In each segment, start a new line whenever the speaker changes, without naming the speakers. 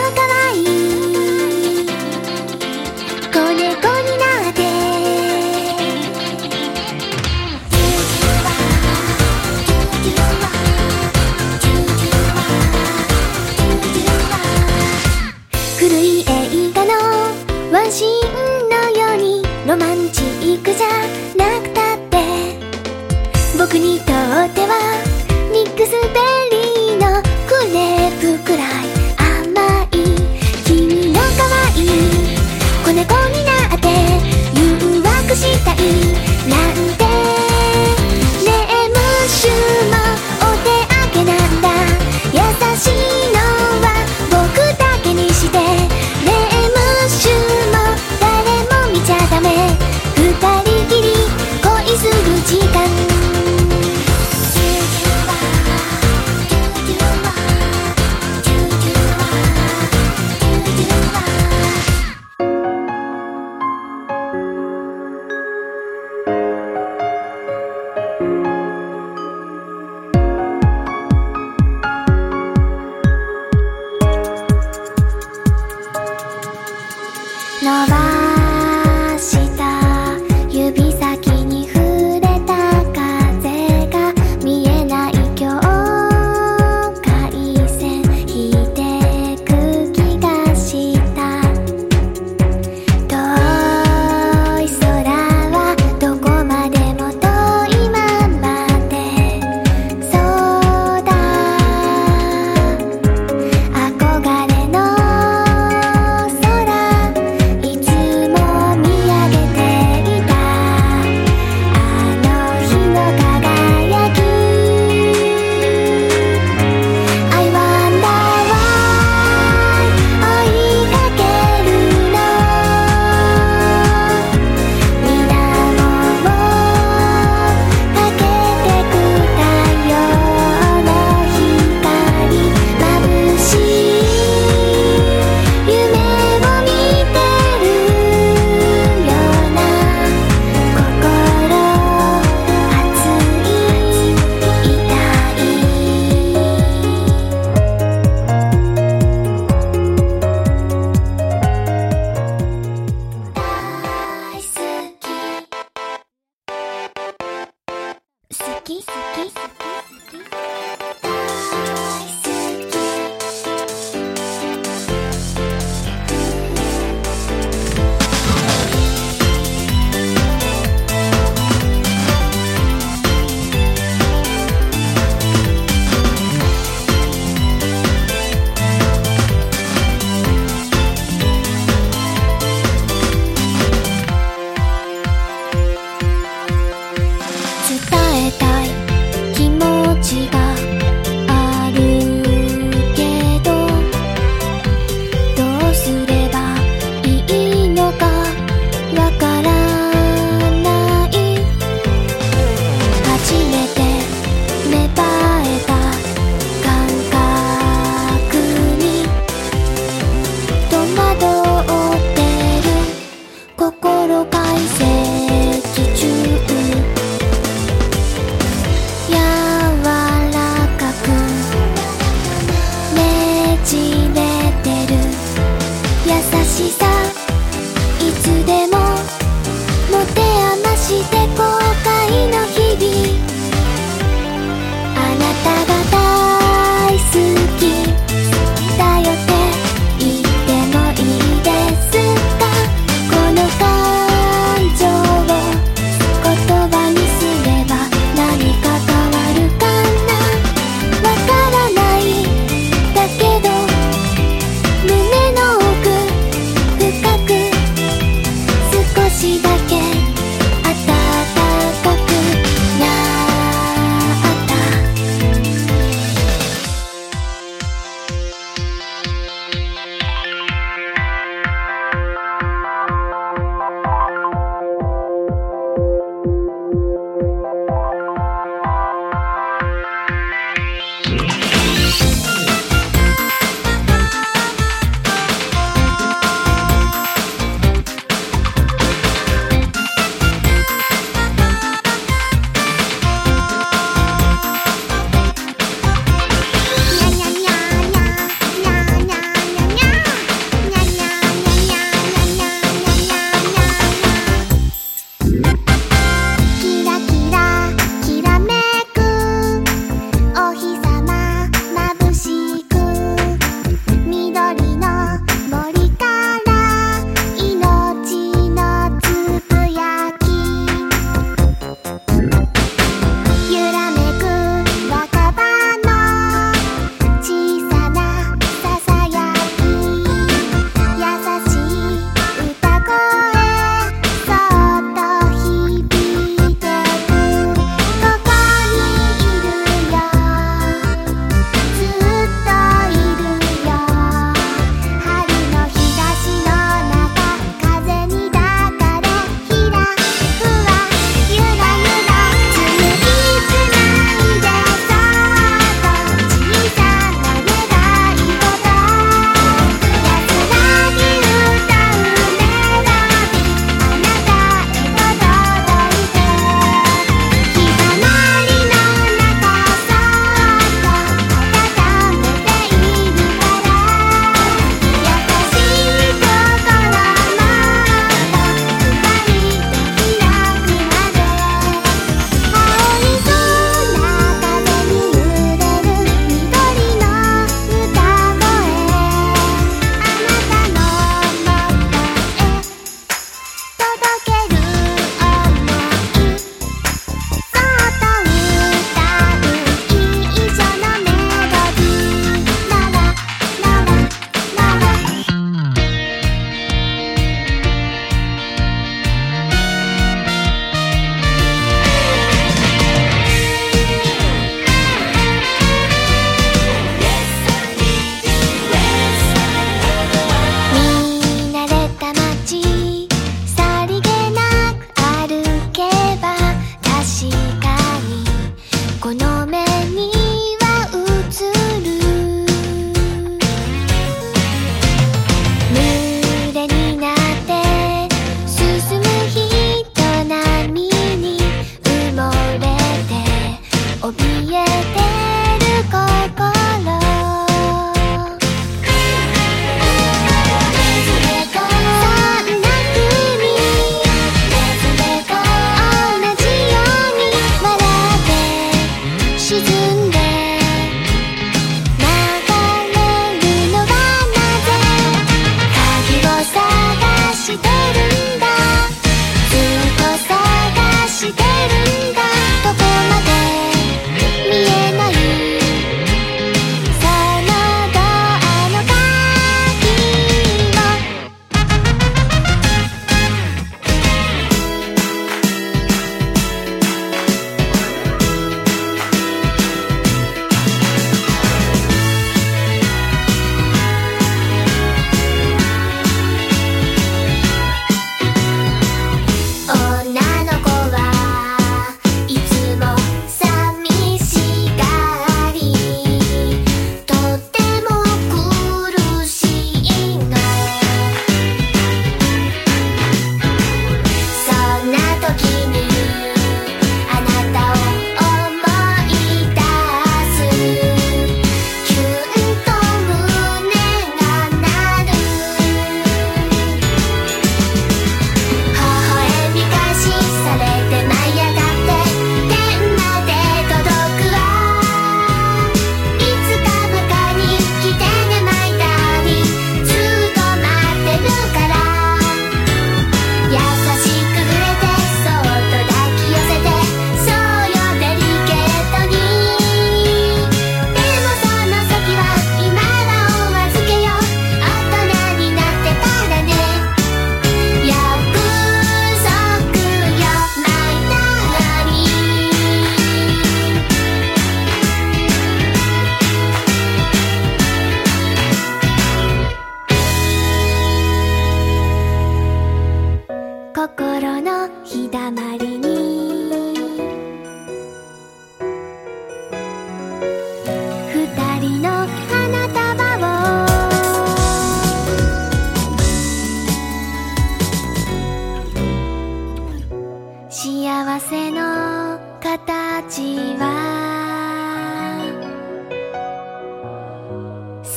可愛い子猫になって古い映画のワンシーンのようにロマンチックじゃなくたって僕にとってはミックスベリーのクレープくらい甘い君の可愛い子猫になって誘惑したいなんてねえムッシュもお手上げなんだ優しいのは僕だけにしてねえムッシュも誰も見ちゃダメ二人きり恋する時間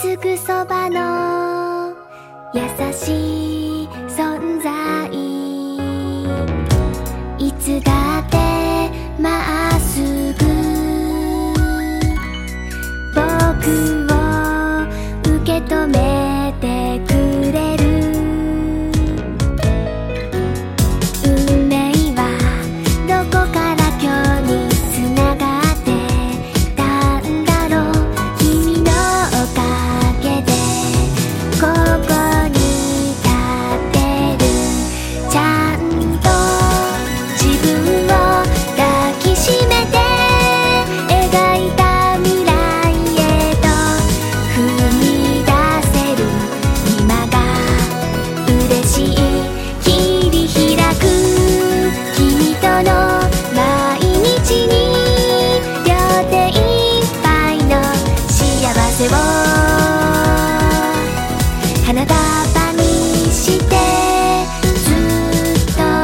すぐそばの優しい存在、いつだってまっすぐ僕を受け止めてくれる。運命はどこから今日に繋がってたんだろう。君のおかげでここに立ってる。ちゃんと自分を抱きしめて描いた未来へと踏み出せる今が嬉しい。切り開く君との毎日に両手いっぱいの幸せを花束にしてずっと。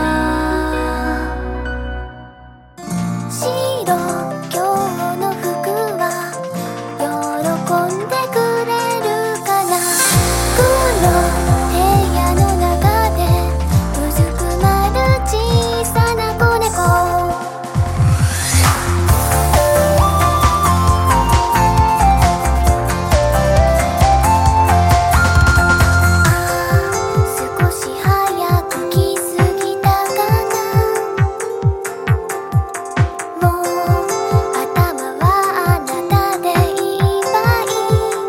白今日の服は喜んでくれるかな。黒部屋の中でうずくまる小さな子猫。少し早く気づいたかな。もう頭はあなたでいっぱい。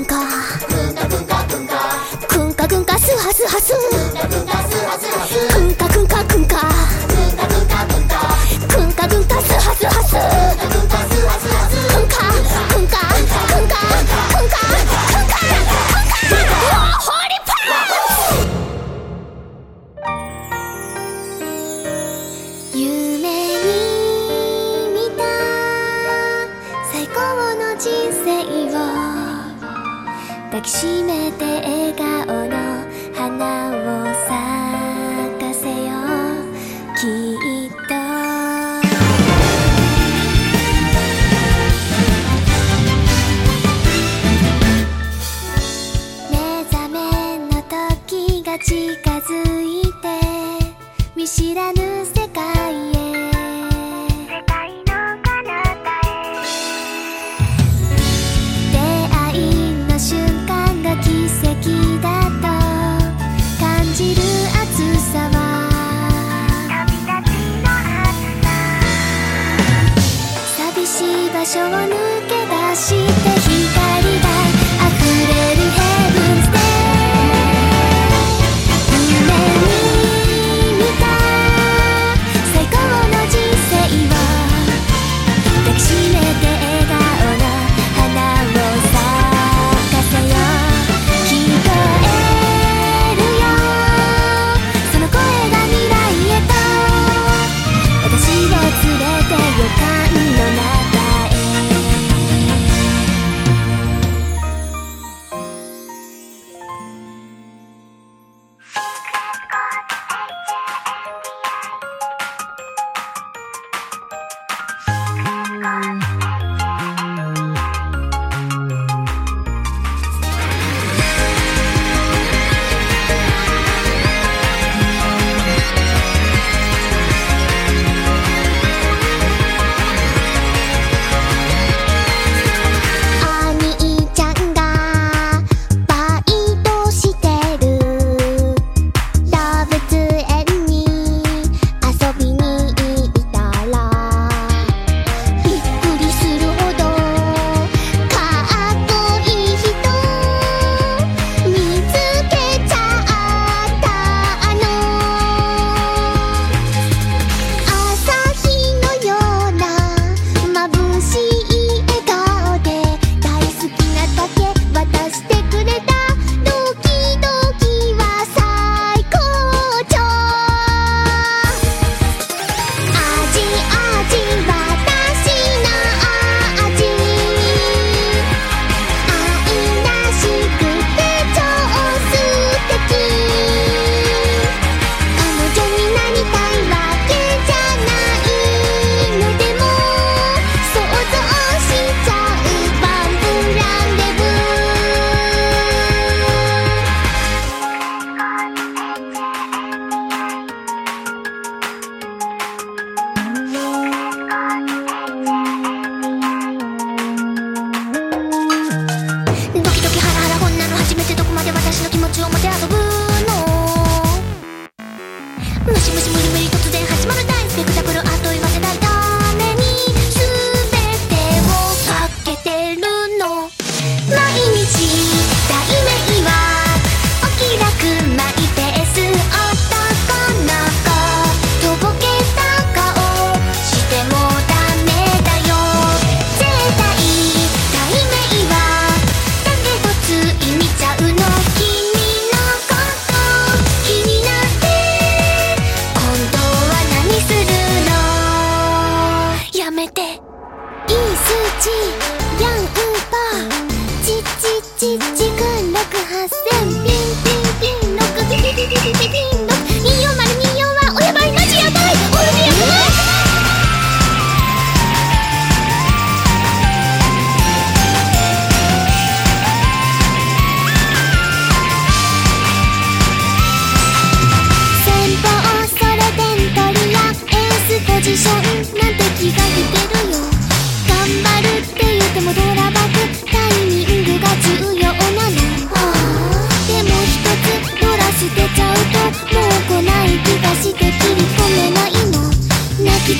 くんかくんかくんかスハスハスくんかくんかくんかくんかくんかスハスハスくんかくんかくんかくんかくんかホーリーパン夢に見た最高の人生を抱きしめて笑顔の花を咲かせようきっと目覚めの時が近づいて見知らぬ世界へ世界の彼方へ出会いの瞬間が奇跡だと感じる熱さは旅立ちの熱さ寂しい場所を抜け出して光が溢れるヘブンズで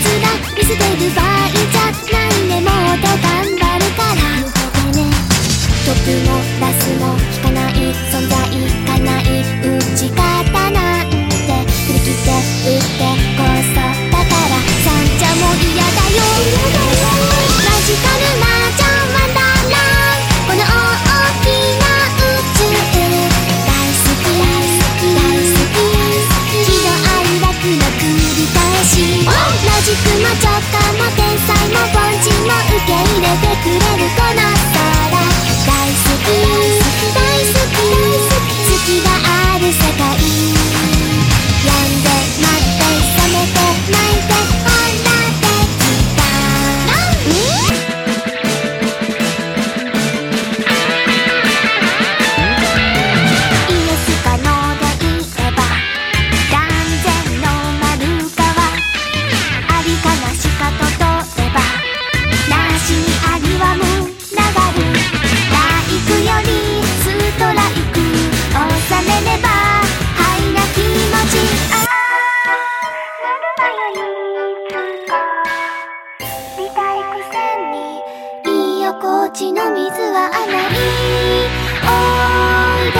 見捨てる場合じゃないね。もっと頑張るから抜けてね。トップもラスも引かない存在かない打ち方なんて振り切って打ってこそだから三茶も嫌だよ。マジカルマージャンワンダーランこの大きな宇宙大好き大好き喜怒哀楽の繰り返しマジックも直感も天才も凡人も受け入れてくれるこの空大好き大好き月がある世界病んで待って冷めて泣いてほらできたイエスかノーで言えば断然の丸かはありかなしかと問えばなしにありは無流るライクよりストライク収めればはいな気持ちあなるわよいつか見たいくせに居心地の水は甘いおいで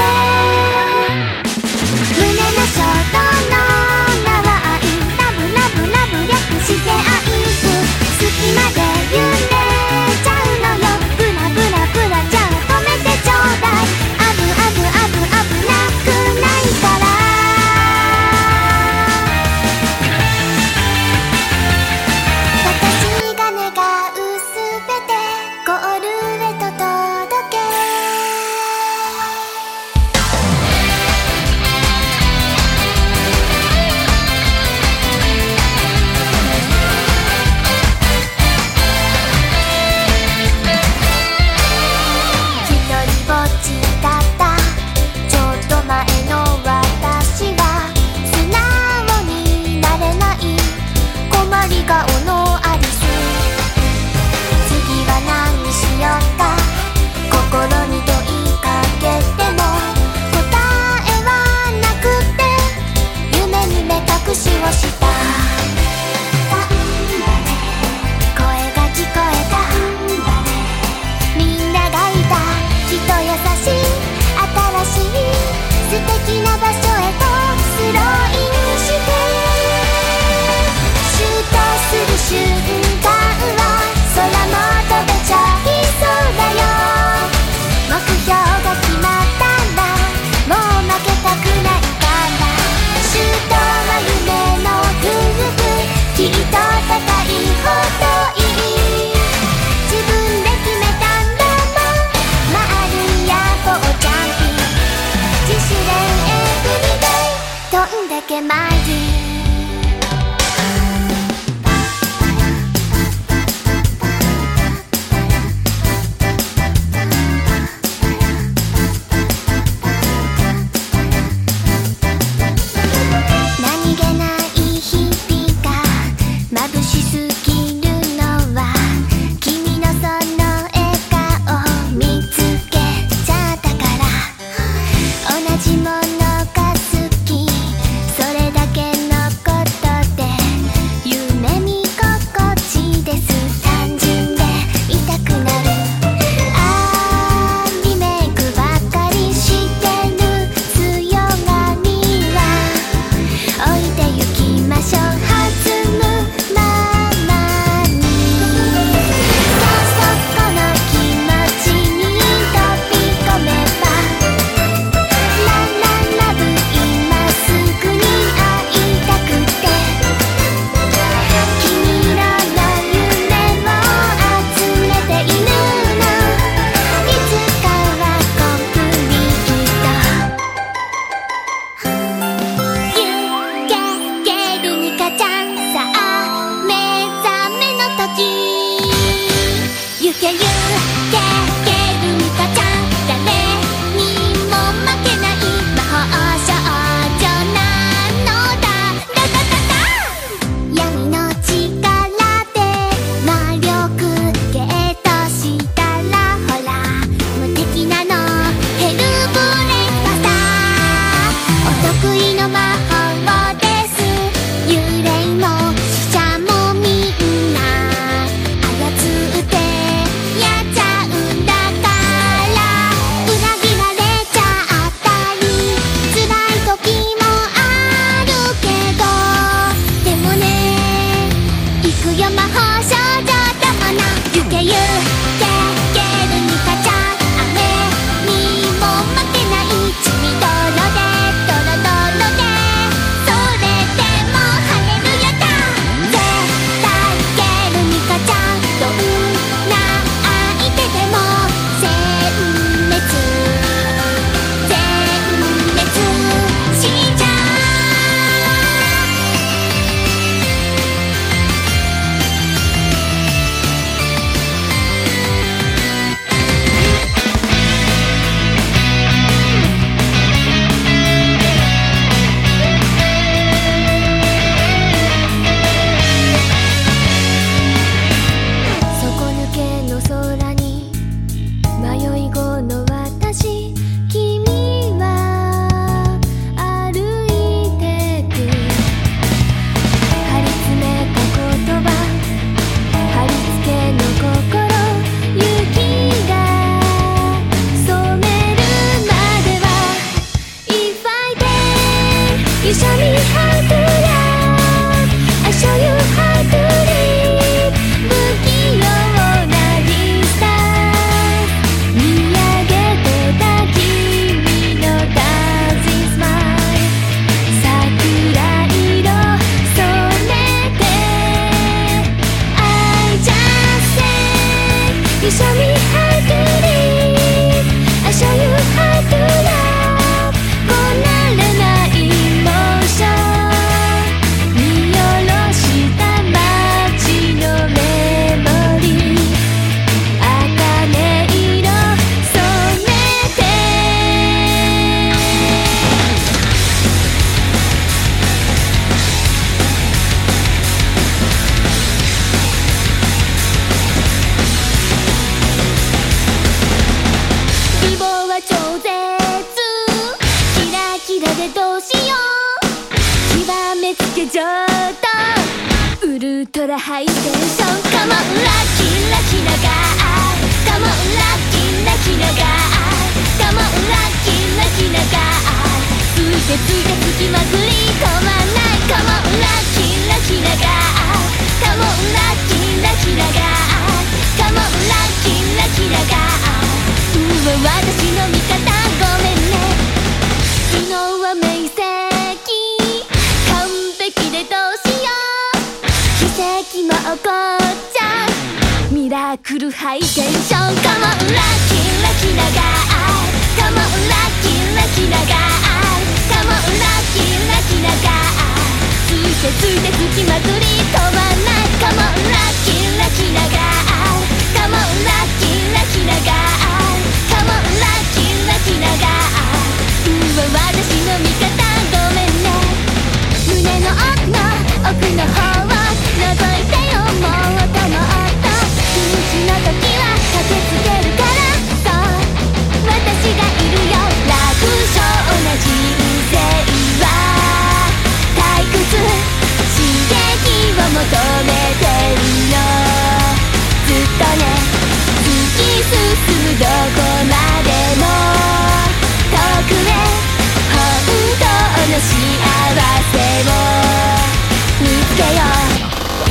胸の衝動の名は愛ラブラブラブ略して愛好きまで揺れちゃうのよブラブラブラじゃあ止めてちょうだいあぶあぶあぶ危なくないから私が願うすべてゴールへと届け一人ぼっちだったちょっと前の私は素直になれない困り顔のアリス次は何しようか心に問いかけても答えはなくて夢に目隠しをした声が聞こえたみんながいたきっと優しい新しい素敵な場所へとスローインしてシュートする瞬間は空も飛べちゃいそうだよ目標が決まったらもう負けたくないからシュートは夢の夫婦きっと高いほどいい自分で決めたんだもんまあるいやフォージャンピング自主練エブリデイどんだけマジ何気ない日々が眩しすぎるのは君のその笑顔見つけちゃったから同じものが好きそれだけのことで夢見心地です単純でいたくなるあーリメイクばっかりしてる強がりは置いてゆきましょう弾むままくよ魔法少女だもの。ゆけゆけゲルニカちゃん、雨にも負けない血みどろでドロドロで、それでもハレルヤだ。絶対ゲルニカちゃん、どんな相手でも殲滅殲滅しちゃう。底抜けの空に迷い子の私、君は歩いてく。張り詰めた言葉、貼り付けの心、雪が染めるまでは If I dare You show me how to love I show you how to live 不器用なリスター見上げてた君のダンススマイル桜色染めて I just say You show me how to live I show you how to love こなれないモーション見下ろした街のメモリー茜色染めて美貌は超絶キラキラでどうしよう極めつけ上等ウルトラハイテンション Come on ラッキーラキなガー Come on ラッキーラキなガー Come on ラッキーラキなガーついてついてつきまくり止まんない Come on ラッキーラキなガー Come on ラッキーラキなガー Come on ラッキーラキなガー私の味方ごめんね昨日は明晰完璧でどうしよう奇跡も起こっちゃうミラクルハイテンション Come on ラッキーラキなガー Come on ラッキーラキなガー Come on ラッキーラキなガーついてついてつきまくり止まんない Come on ラッキーラキなガー Come on ラッキーラキなガーCome on ラッキーラキなガー私の味方ごめんね胸の奥の方を覗いてよもっともっとピンチの時は駆けつけるからそう私がいるよ楽勝な人生は退屈刺激を求めてるのずっとね突き進むどこまでも遠くへ本当の幸せを見つけよう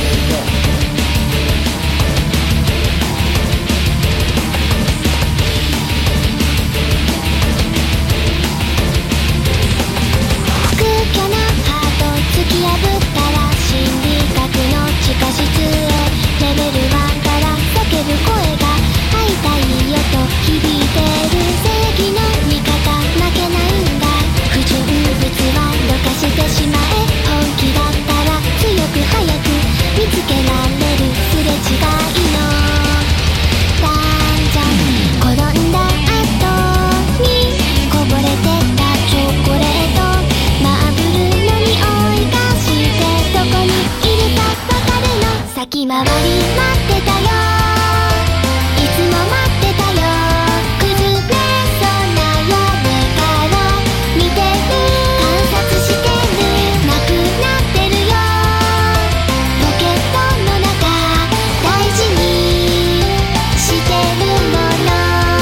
空虚なハート突き破ったら心理学の地下室へレベル1から叫ぶ声が会いたいよと響いてる正義の味方負けないんだ不純物はどかしてしまえ本気だったら強く早く見つけられるすれ違いのダンジョン転んだ後にこぼれてったチョコレートマーブルの匂いがしてどこにいるかわかるの先回り待ってたよいつも待ってたよ崩れそうな屋根から見てる観察してるなくなってるよポケットの中大事にしてるもの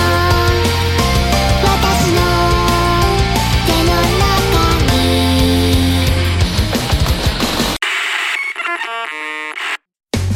私の手の中に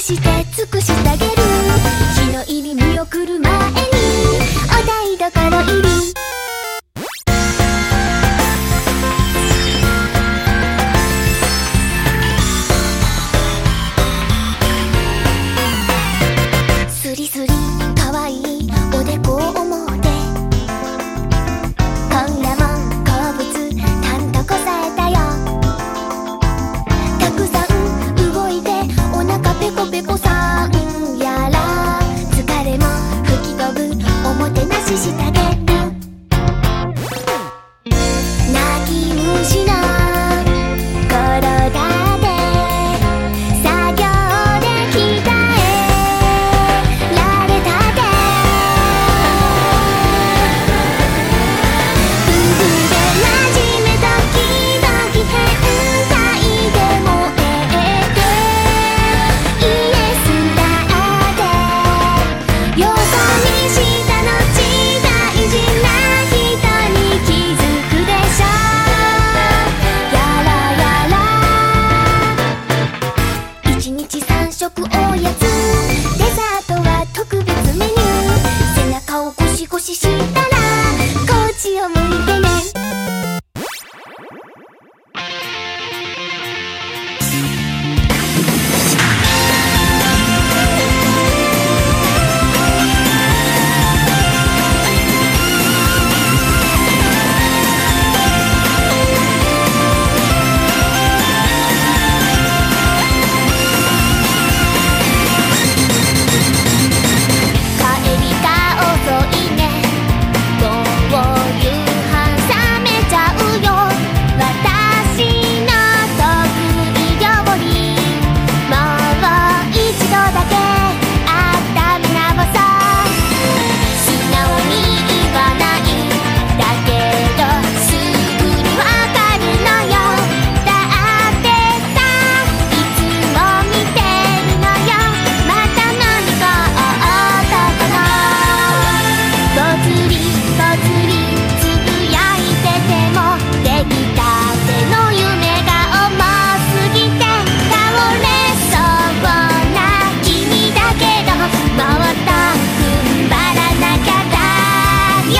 して尽くしてあげる。日の入り見送る前にお台所入り。スリスリかわいいおでこを思うて、今夜も好物たんとこさえたよ。たくさん動いてお腹ペコペコさんやら、疲れも吹き飛ぶおもてなししてあげる。泣き虫の体で作業で鍛えられたで、夫婦で馴染め時々変態で燃えて、イエスだってよそ見した後大事な人に気づくでしょ。やらやら1日3食おやつ、デザートは特別メニュー。背中をゴシゴシしたらこっちを向いてね。帰りが遅いね、もう夕飯冷めちゃうよ。私の得意料理、もう一度だけ温め直そう。素直に言わないだけどすぐにわかるのよ。だってさ、いつも見てるのよ。また何か男のぽつりぽつりつぶやいてても、出来たての夢が重すぎて倒れそうな君だけど、もっと踏ん張らなきゃだよ。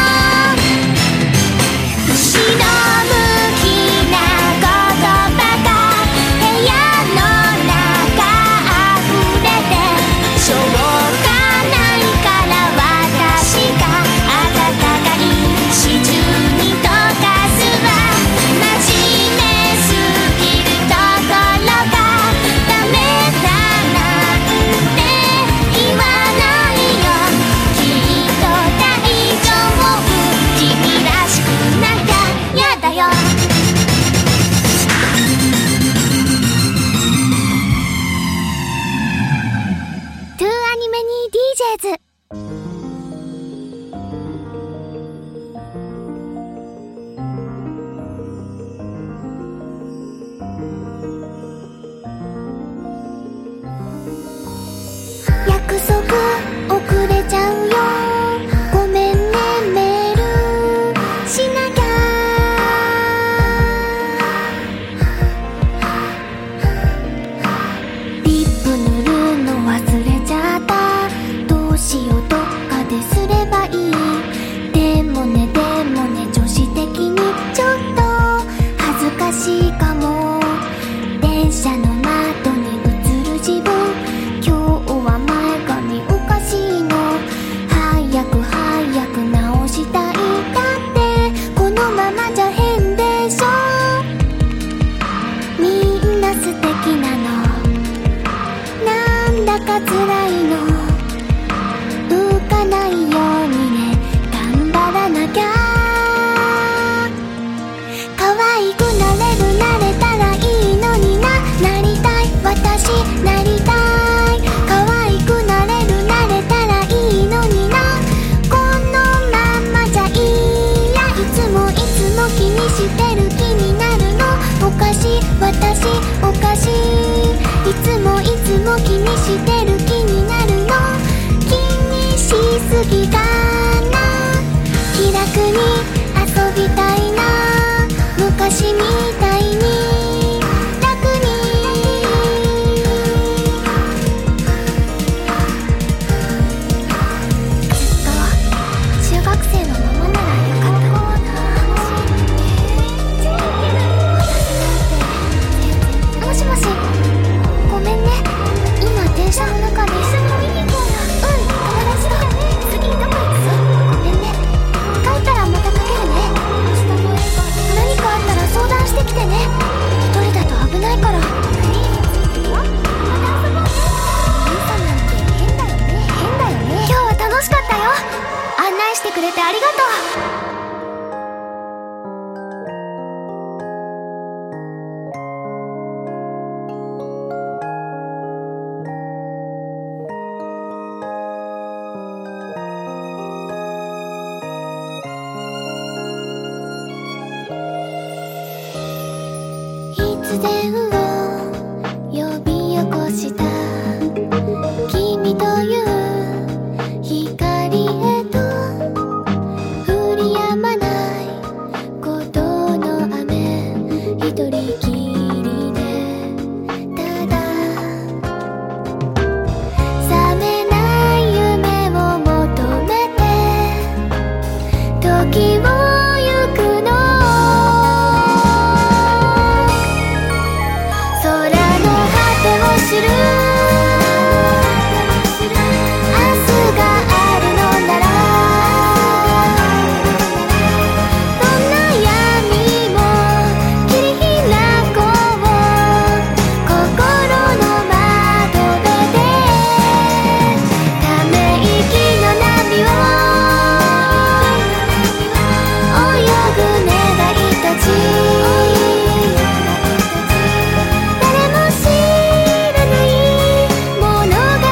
後ろ向きな言葉が部屋の中溢れて、しょうがないから私が温かいシチューに溶かすわ。真面目すぎるところがダメだなんて言わないよ。きっと大丈夫、君らしくなきゃやだよ。トゥーアニメに DJs。約束遅れちゃうよ、ごめんねメールしなきゃ。リップ塗るの忘れちゃった、どうしようどっかですればいい。でもね女子的にちょっと恥ずかしいかも。電車の窓に映る自分、今日は前髪おかしいの。早く直したい。だってこのままじゃ変でしょ。みんな素敵なの、なんだか辛いの。浮かないようにね、頑張らなきゃ。可愛くなれたらいいのにな。なりたい私なりたい。可愛くなれたらいいのにな。このままじゃいいや。いつも気にしてる気になるの。おかしい私おかしい。いつも気にしてる気になるの。気にしすぎかな。気楽に遊びたいな。昔みたいに楽に突然を呼び起こした君という光へと降り止まない鼓動の雨一人きりでただ覚めない夢を求めて時を行くの空の果てを知る明日があるのならどんな闇も切り開こう心の窓辺でため息の波を泳ぐ願いたち誰も知らない物語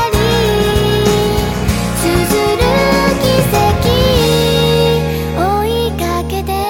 綴る奇跡追いかけて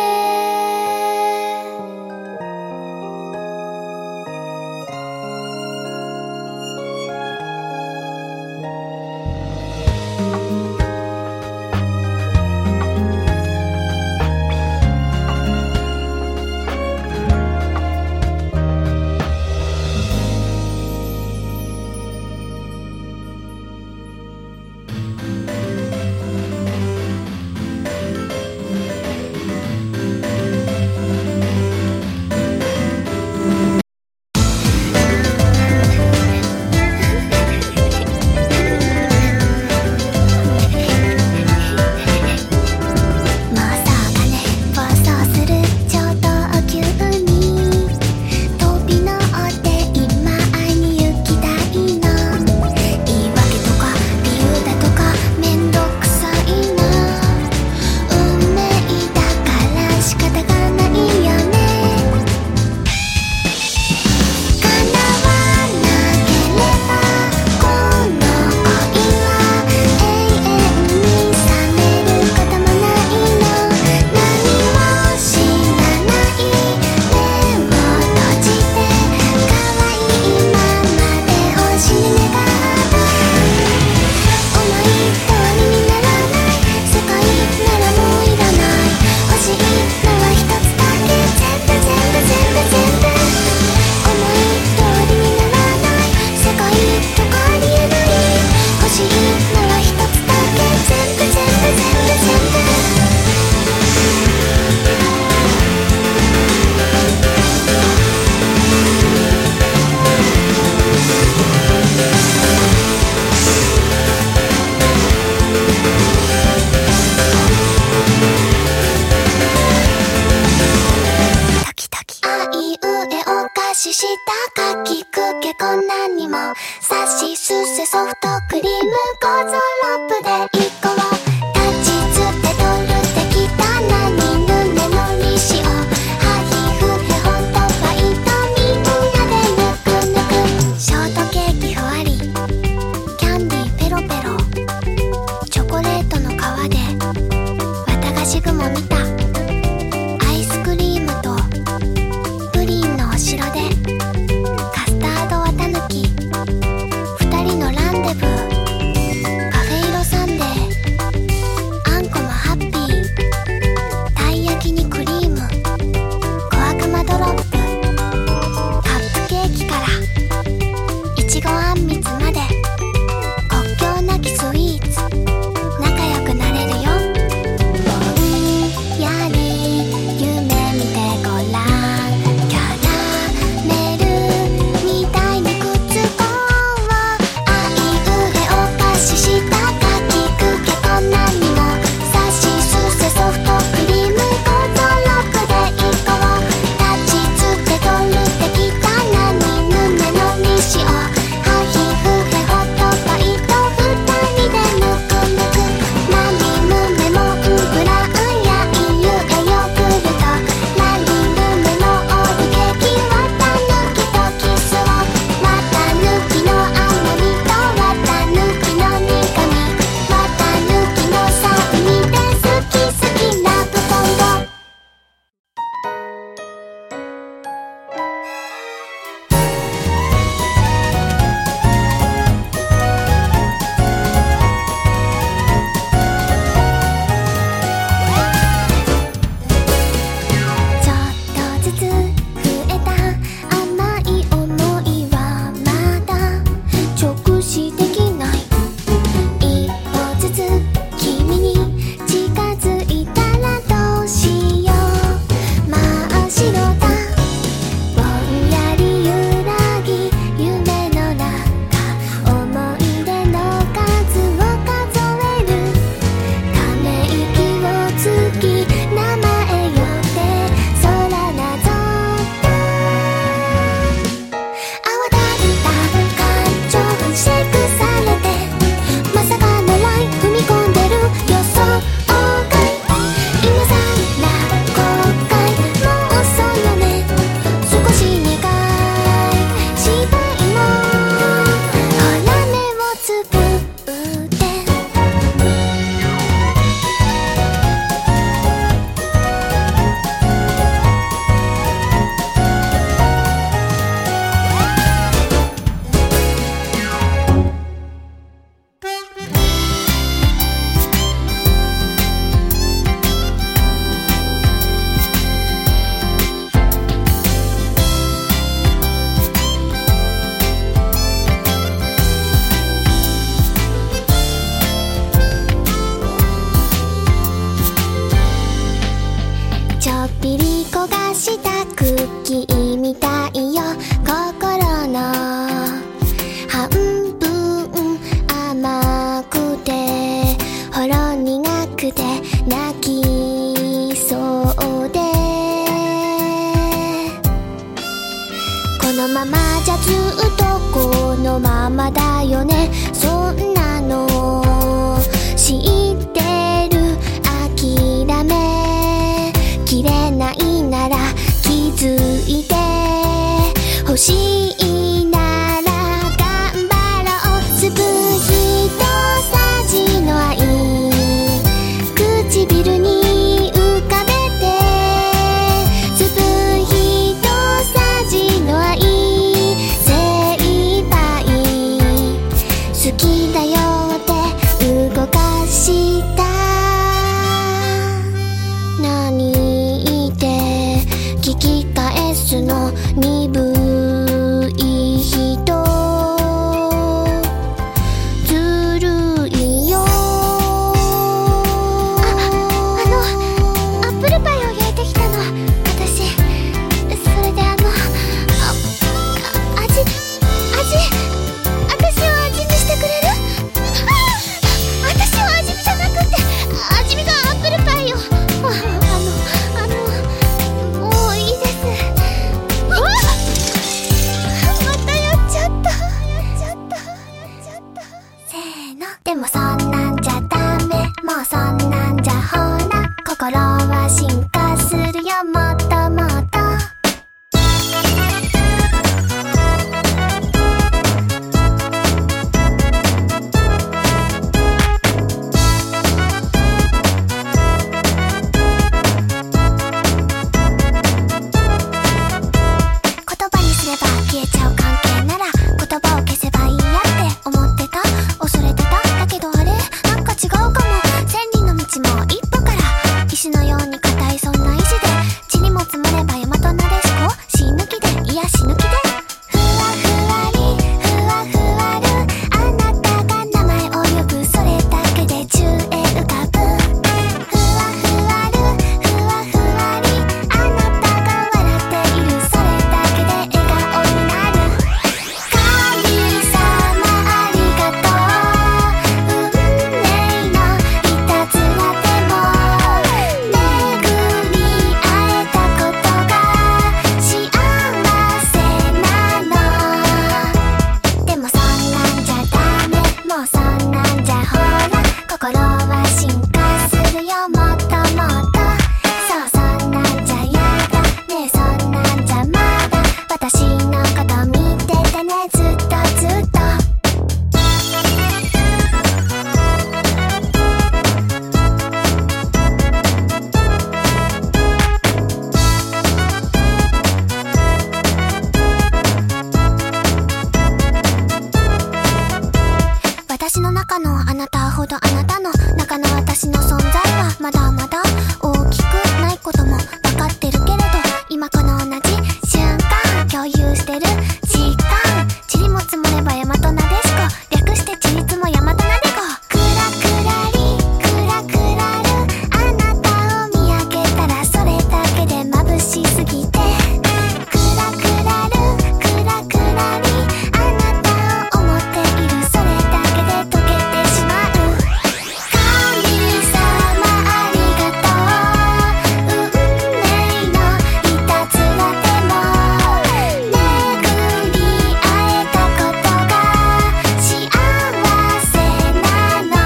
したかきくけこんなにもさしすせソフトクリームゴゾロップで一個を立ちつて取るてきたなにぬねのりしをはひふへほんとファイトみんなでぬくぬくショートケーキふわりキャンディーペロペロチョコレートの皮で綿菓子雲見たアイスクリームとプリンのお城でカスタード綿抜き二人のランデブーカフェイロサンデーよね、そんなの知ってる。諦めきれないなら気づいて欲しいなら頑張ろう。スプヒとサジの愛、唇に浮かべて。スプヒとサジの愛、精一杯好きだよって動かした。何言って聞き返すの、鈍い人ずるいよ。アップルパイを焼いてきたの私。それで味私を味見してくれる？私を味見じゃなくって味見がアップルパイよ。もういいです。またやっちゃった。せーの。でもそんなんじゃダメ、もうそんなんじゃほら心は進化するよ、もっともっと。言葉にすれば消えちゃう関係なら言葉を消せばいいやって思ってた、恐れてた。だけどあれなんか違うかも。千里の道も一歩から、石のように硬いそんな意志で、地にも積もれば大和なでしこ、死ぬ気でいや死ぬ気で。ふわふわりふわふわる、あなたが名前を呼ぶ、それだけで宙へ浮かぶ。ふわふわるふわふわり、あなたが笑っている、それだけで笑顔になる。神様ありがとう、運命のいたずらでも巡り会えたことが幸せなの。でもそんなんじゃダメ、もうそんなんじゃほら心は進化するよ、もっともっと。そう、そんなんじゃやだねえ、そんなんじゃまだ私のこと見ててね、ずっとずっと。私の中のあなたほどあなたの中の私の存在はまだまだ大きくないことも分かってるけれど、今この同じ瞬間共有してる時間、ちりも積もれば大和なでしこ、略してちりつも大和なでこ。クラクラリクラクラる、あなたを見上げたらそれだけで眩しすぎて。クラクラるクラクラリ、あなたを思っている、それだけで溶けてしまう。神様ありがとう、運命のいたずらでも巡り会えたことが幸せなの。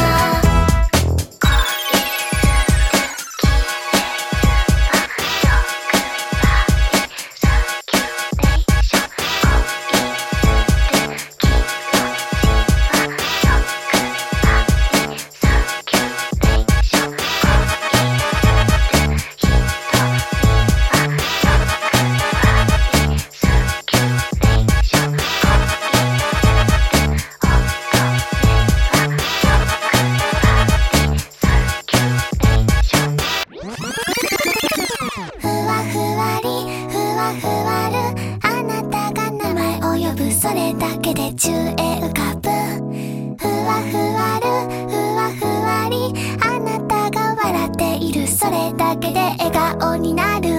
ふわふわりふわふわる、あなたが名前を呼ぶ、それだけで宙へ浮かぶ。ふわふわるふわふわり、あなたが笑っている、それだけで笑顔になる。